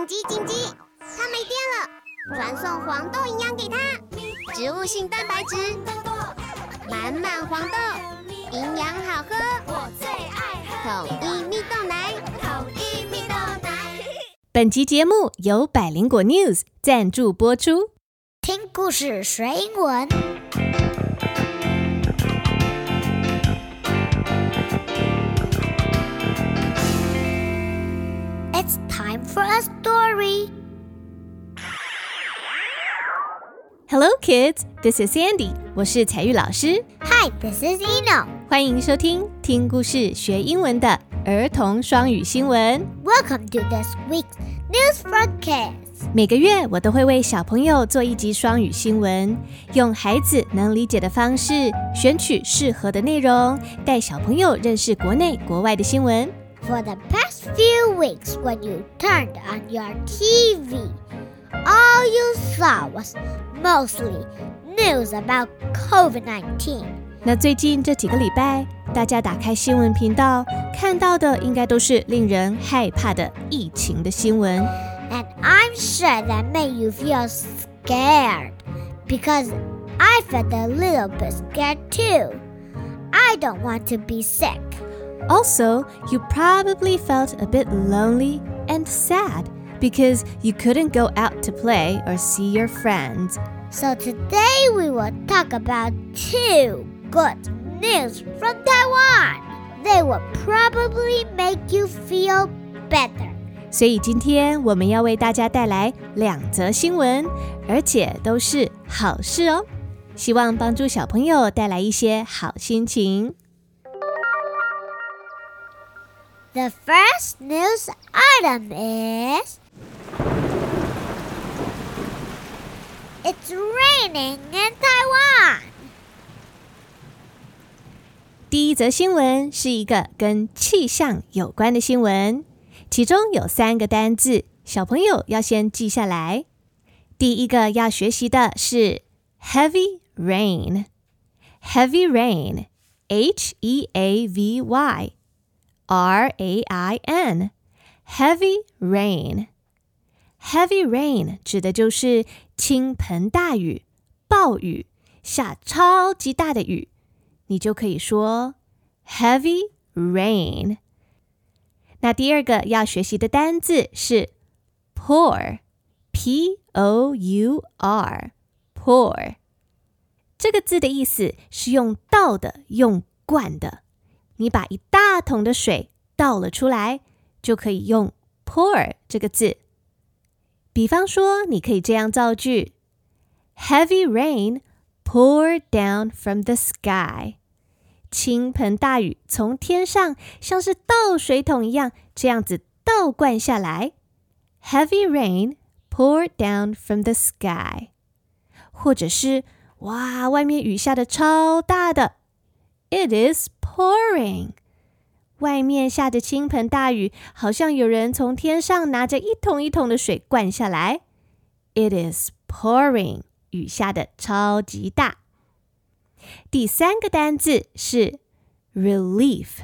緊急！它沒電了，傳送黃豆營養給它，植物性蛋白質，滿黃豆，營養好喝，我最愛喝統一蜜豆奶，統一蜜豆奶。 本集節目由百靈果 News 贊助播出， 聽故事學英文。It's time for a story. Hello kids, this is Sandy. 我是彩玉老師。 Hi, this is Eno. 歡迎收聽聽故事學英文的兒童雙語新聞。 Welcome to this week's news broadcast. 每個月我都會為小朋友做一集雙語新聞，用孩子能理解的方式選取適合的內容，帶小朋友認識國內國外的新聞。 For the past few weeks, when you turned on your TV, all you saw was mostly news about COVID-19. 那最近這幾個禮拜，大家打開新聞頻道，看到的應該都是令人害怕的疫情的新聞。 And I'm sure that made you feel scared, because I felt a little bit scared too. I don't want to be sick. Also, you probably felt a bit lonely and sad because you couldn't go out to play or see your friends. So today we will talk about two good news from Taiwan. They will probably make you feel better. 所以今天我們要為大家帶來2則新聞，而且都是好事哦，希望幫助小朋友帶來一些好心情。 The first news item is It's raining in Taiwan. 第一則新聞是一個跟氣象有關的新聞，其中有3個單字，小朋友要先記下來。第一個要學習的是 heavy rain. Heavy rain, H-E-A-V-Y.RAIN Heavy rain. Heavy rain 指的就是傾盆大雨、暴雨，下超級大的雨，你就可以說 heavy rain。那第二個要學習的單字是 pour, P-O-U-R, pour。這個字的意思是用倒的，用灌的。你把一大桶的水倒了出來，就可以用 pour 這個字。比方說，你可以這樣造句 Heavy rain poured down from the sky. 傾盆大雨從天上像是倒水桶一樣，這樣子倒灌下來。Heavy rain poured down from the sky. 或者是，哇，外面雨下得超大的。It is pouring. 外面下着傾盆大雨，好像有人從天上拿着一桶一桶的水灌下來。It is pouring. 雨下得超級大。第3個單字是 relief.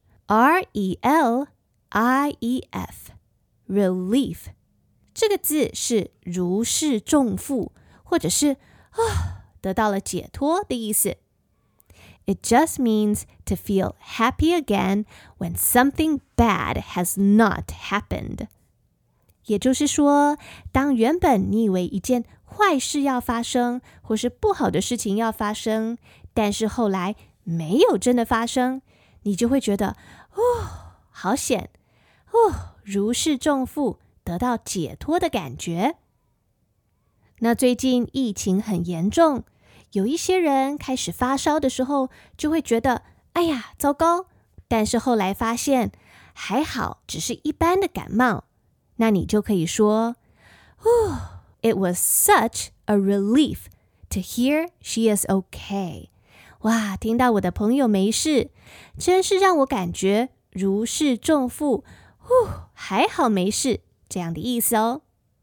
R-E-L-I-E-F. Relief. 這個字是如釋重負，或者是得到了解脫的意思。It just means to feel happy again when something bad has not happened. 也就是說，當原本你以為一件壞事要發生，或是不好的事情要發生，但是後來沒有真的發生，你就會覺得，好險，如釋重負，得到解脫的感覺。那最近疫情很嚴重，有一些人開始發燒的時候，就會覺得，哎呀，糟糕，但是後來發現，還好，只是一般的感冒。那你就可以說，It was such a relief to hear she is okay. 哇，聽到我的朋友沒事，真是讓我感覺如釋重負，還好沒事，這樣的意思哦。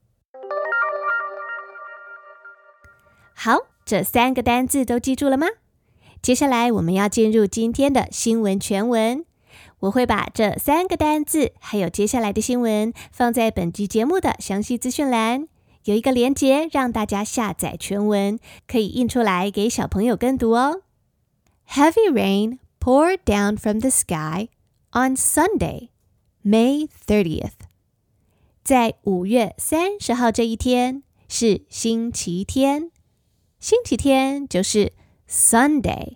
好，這3個單字都記住了嗎？接下來我們要進入今天的新聞全文。 我會把這3個單字還有接下來的新聞放在本集節目的詳細資訊欄，有一個連結讓大家下載全文，可以印出來給小朋友跟讀哦。Heavy rain poured down from the sky on Sunday, May 30th. 在5月30號這一天是星期天，星期天就是 Sunday,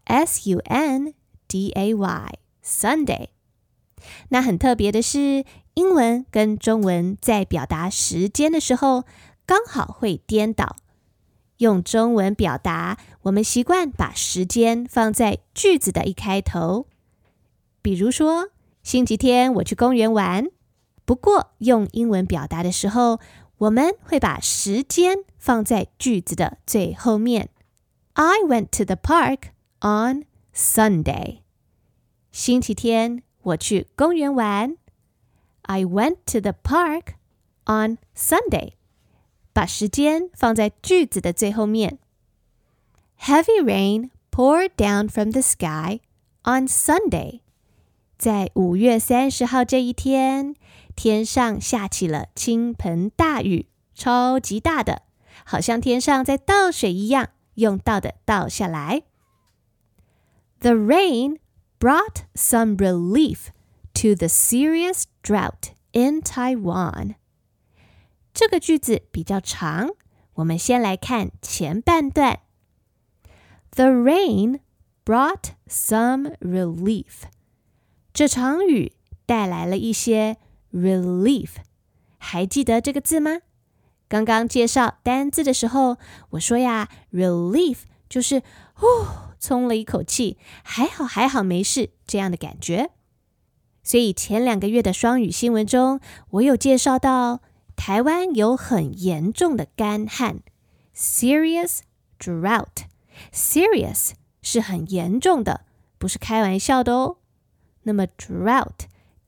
S-U-N-D-A-Y, Sunday。那很特別的是，英文跟中文在表達時間的時候剛好會顛倒。用中文表達，我們習慣把時間放在句子的一開頭。比如說，星期天我去公園玩。不過，用英文表達的時候，我們會把時間放在句子的最後面。I went to the park on Sunday. 星期天我去公園玩。I went to the park on Sunday.把時間放在句子的最後面。Heavy rain poured down from the sky on Sunday. 在5月30號這一天，天上下起了傾盆大雨，超級大的，好像天上在倒水一樣，用倒的倒下來。The rain brought some relief to the serious drought in Taiwan.這個句子比較長，我們先來看前半段。The rain brought some relief. 這場雨帶來了一些 relief. 還記得這個字嗎？剛剛介紹單字的時候，我說呀 ，relief 就是鬆了一口氣，還好沒事這樣的感覺。所以前2個月的雙語新聞中，我有介紹到台灣有很嚴重的乾旱 ，serious drought. Serious 是很嚴重的，不是開玩笑的哦。那麼 drought,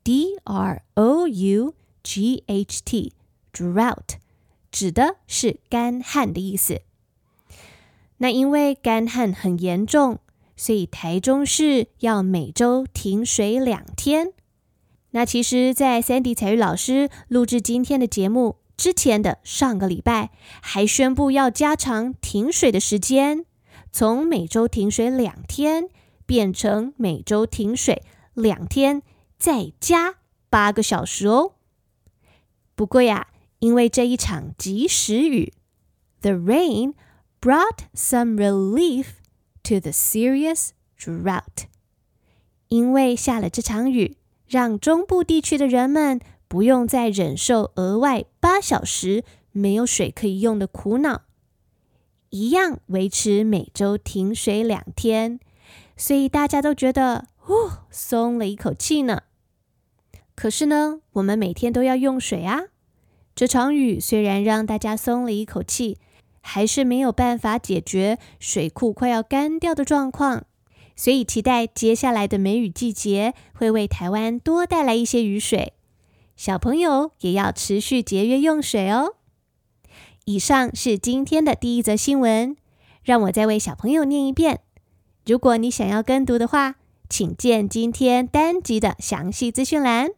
D-R-O-U-G-H-T, drought 指的是乾旱的意思。那因為乾旱很嚴重，所以台中市要每周停水2天。那其實，在 Sandy 采聿老師錄製今天的節目之前的上個禮拜，還宣布要加長停水的時間，從每周停水2天，變成每周停水2天，再加8個小時哦。不過呀，因為這一場及時雨 ，The rain brought some relief to the serious drought. 因為下了這場雨，讓中部地區的人們不用再忍受額外8小時沒有水可以用的苦惱，一樣維持每周停水2天，所以大家都覺得鬆了一口氣呢。可是呢，我們每天都要用水啊。這場雨雖然讓大家鬆了一口氣，還是沒有辦法解決水庫快要乾掉的狀況。所以期待接下來的梅雨季節會為台灣多帶來一些雨水，小朋友也要持續節約用水哦。以上是今天的第一則新聞，讓我再為小朋友念一遍。如果你想要跟讀的話，請見今天單集的詳細資訊欄。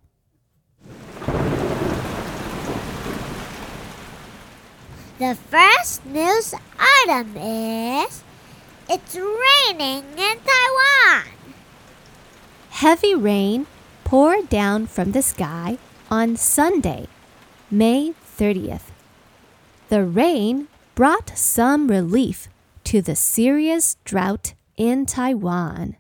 The first news item is...It's raining in Taiwan. Heavy rain poured down from the sky on Sunday, May 30th. The rain brought some relief to the serious drought in Taiwan.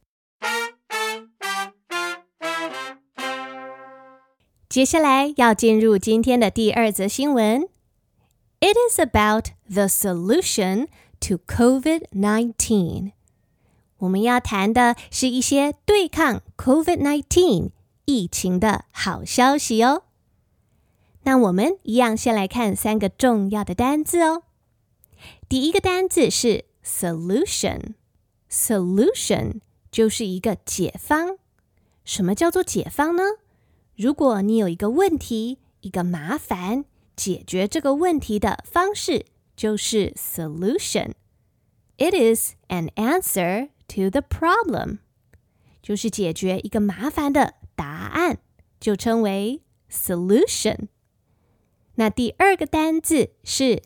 接下來要進入今天的第2則新聞。It is about the solution to COVID-19. 我們要談的是一些對抗 COVID-19 疫情的好消息哦。那我們一樣先來看3個重要的單字哦。第一個單字是 solution。Solution 就是一個解方。什麼叫做解方呢？如果你有一個問題，一個麻煩，解決這個問題的方式就是 solution. It is an answer to the problem. 就是解決一個麻煩的答案，就稱為 solution。那第二個單字是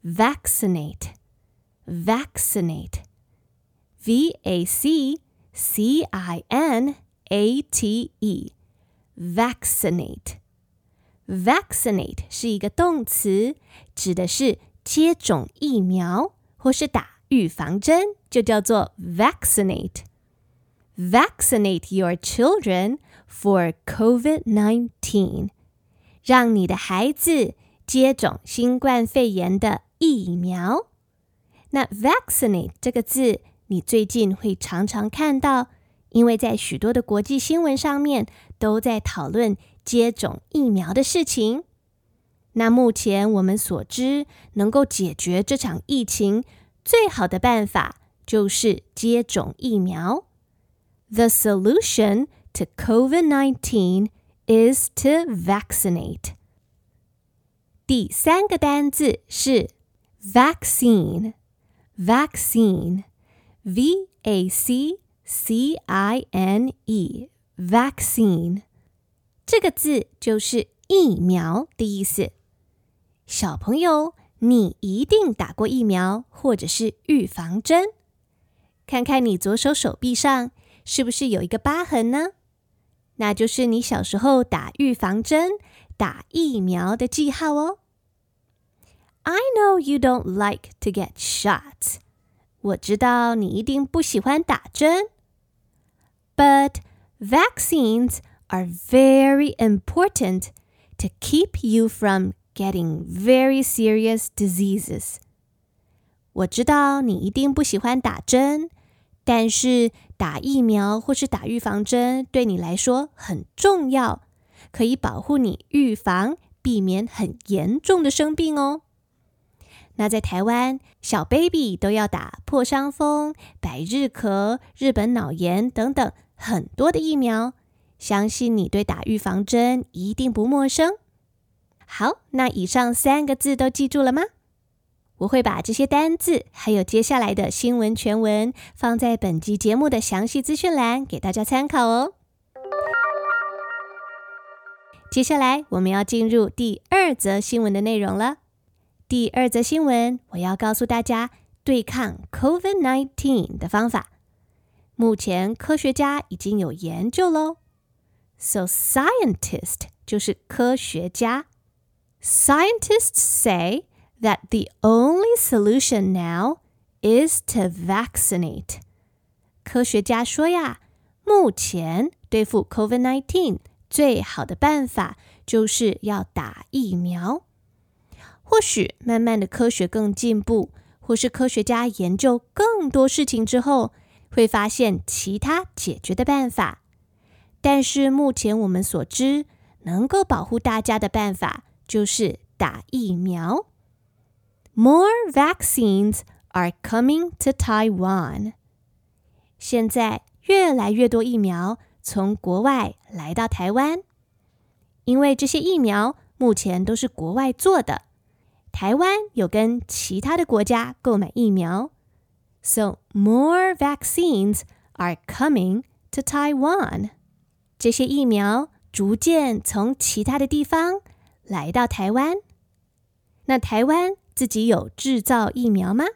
vaccinate。vaccinate。vaccinate 是一個動詞，指的是接種疫苗或是打預防針，就叫做 vaccinate。Vaccinate your children for COVID-19。讓你的孩子接種新冠肺炎的疫苗。那 vaccinate 這個字，你最近會常常看到，因為在許多的國際新聞上面都在討論接種疫苗的事情。那目前我們所知，能夠解決這場疫情最好的辦法就是接種疫苗。The solution to COVID-19 is to vaccinate。第三個單字是 vaccine。vaccine。vaccine。這個字就是疫苗的意思。小朋友，你一定打過疫苗或者是預防針。看看你左手手臂上是不是有一個疤痕呢？那就是你小時候打預防針、打疫苗的記號哦。I know you don't like to get shots。我知道你一定不喜歡打針。But vaccines are very important to keep you from getting very serious diseases。我知道你一定不喜歡打針，但是打疫苗或是打預防針對你來說很重要，可以保護你預防，避免很嚴重的生病哦。那在台灣，小 baby 都要打破傷風、百日咳、日本腦炎等等很多的疫苗，相信你對打預防針一定不陌生。好，那以上3個字都記住了嗎？我會把這些單字還有接下來的新聞全文放在本集節目的詳細資訊欄給大家參考哦。接下來我們要進入第2則新聞的內容了。第2則新聞，我要告訴大家對抗 COVID-19 的方法。目前科學家已經有研究咯。So scientist 就是科學家。Scientists say that the only solution now is to vaccinate. 科學家說呀，目前對付 COVID-19 最好的辦法就是要打疫苗。或許慢慢的科學更進步，或是科學家研究更多事情之後，會發現其他解決的辦法。但是目前我們所知，能夠保護大家的辦法就是打疫苗。More vaccines are coming to Taiwan. 現在越來越多疫苗從國外來到台灣，因為這些疫苗目前都是國外做的。台灣有跟其他的國家購買疫苗。So more vaccines are coming to Taiwan. 這些疫苗逐漸從其他的地方來到台灣。那台灣自己有製造疫苗嗎？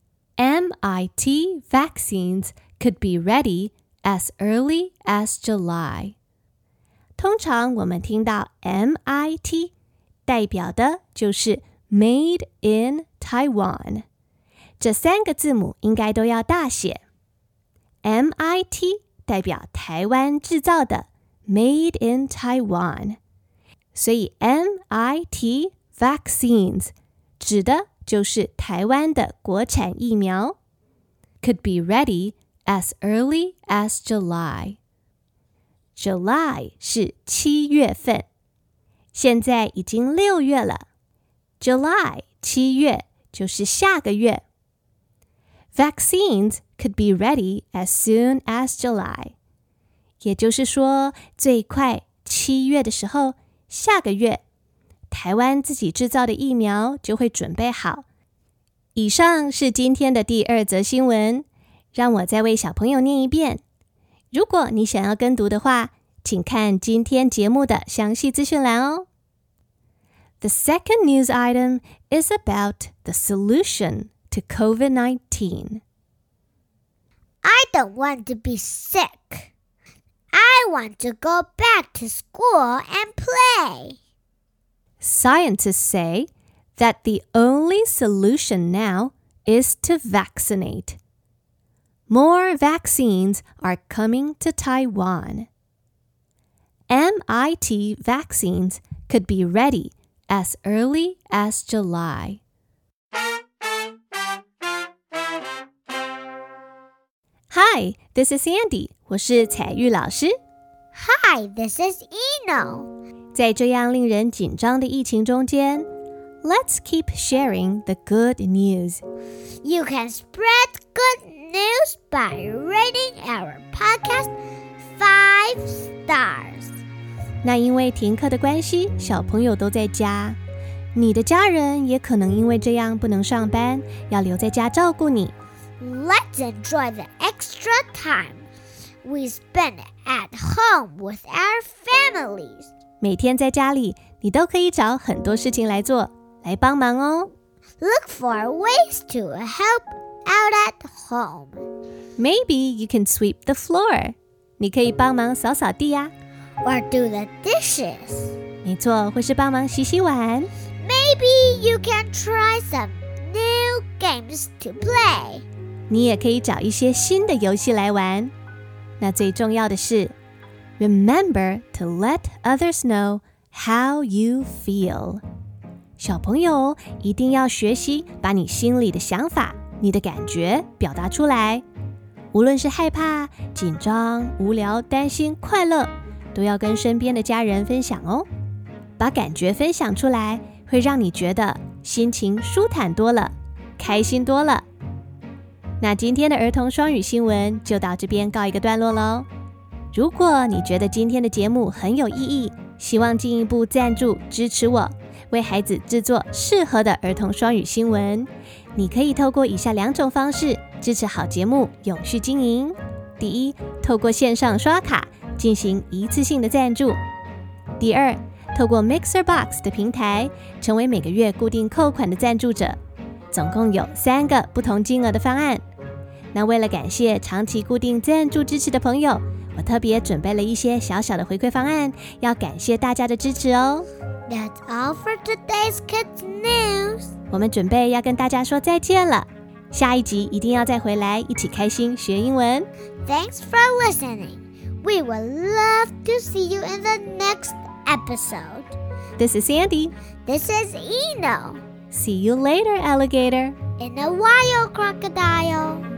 MIT vaccines could be ready as early as July. 通常我們聽到 MIT 代表的就是 Made in Taiwan. 這3個字母應該都要大寫。MIT 代表台灣製造的 Made in Taiwan. 所以 MIT vaccines 指的就是台灣的國產疫苗。Could be ready as early as July. July 是7月份，現在已經6月了。July 7月就是下個月。Vaccines could be ready as soon as July. 也就是說，最快7月的時候，下個月台灣自己製造的疫苗就會準備好。以上是今天的第2則新聞，讓我再為小朋友念一遍。 如果你想要跟讀的話，請看今天節目的詳細資訊欄哦。The second news item is about the solution to COVID-19. I don't want to be sick. I want to go back to school and play. Scientists say that the only solution now is to vaccinate. More vaccines are coming to Taiwan. MIT vaccines could be ready as early as July. Hi, this is Sandy. 我是彩玉老師。 Hi, this is Eno. 在這樣令人緊張的疫情中間 Let's keep sharing the good news. You can spread good news by rating our podcast 5 stars. 那因為停課的關係，小朋友都在家，你的家人也可能因為這樣不能上班，要留在家照顧你。 Let's enjoy the extra time we spend at home with our families. 每天在家裡，你都可以找很多事情來做，來幫忙哦。 Look for ways to help out at home. Maybe you can sweep the floor. 你可以幫忙掃掃地呀。 Or do the dishes. 沒錯，或是幫忙洗洗碗。 Maybe you can try some new games to play. 你也可以找一些新的遊戲來玩。那最重要的是 Remember to let others know how you feel. 小朋友一定要學習把你心裡的想法、你的感覺表達出來。無論是害怕、緊張、無聊、擔心、快樂，都要跟身邊的家人分享哦。把感覺分享出來，會讓你覺得心情舒坦多了，開心多了。那今天的兒童雙語新聞就到這邊告一個段落咯。如果你覺得今天的節目很有意義，希望進一步贊助支持我，為孩子製作適合的兒童雙語新聞，你可以透過以下2種方式支持好節目永續經營。第一，透過線上刷卡進行一次性的贊助。第二，透過 MixerBox 的平台成為每個月固定扣款的贊助者。總共有3個不同金額的方案。那為了感謝長期固定贊助支持的朋友，我特別準備了一些小小的回饋方案，要感謝大家的支持哦。 That's all for today's kids news. 我們準備要跟大家說再見了，下一集一定要再回來一起開心學英文。 Thanks for listening. We would love to see you in the next episode. This is Sandy. This is Eno. See you later, alligator. In a while, crocodile.